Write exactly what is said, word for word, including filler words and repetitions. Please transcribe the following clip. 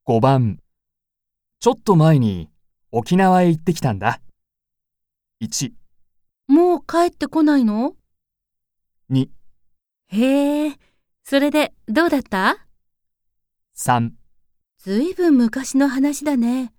ごばん、ちょっと前に沖縄へ行ってきたんだ。いち、 もう帰ってこないの？ に、 へえ、それでどうだった？ さん、 ずいぶん昔の話だね。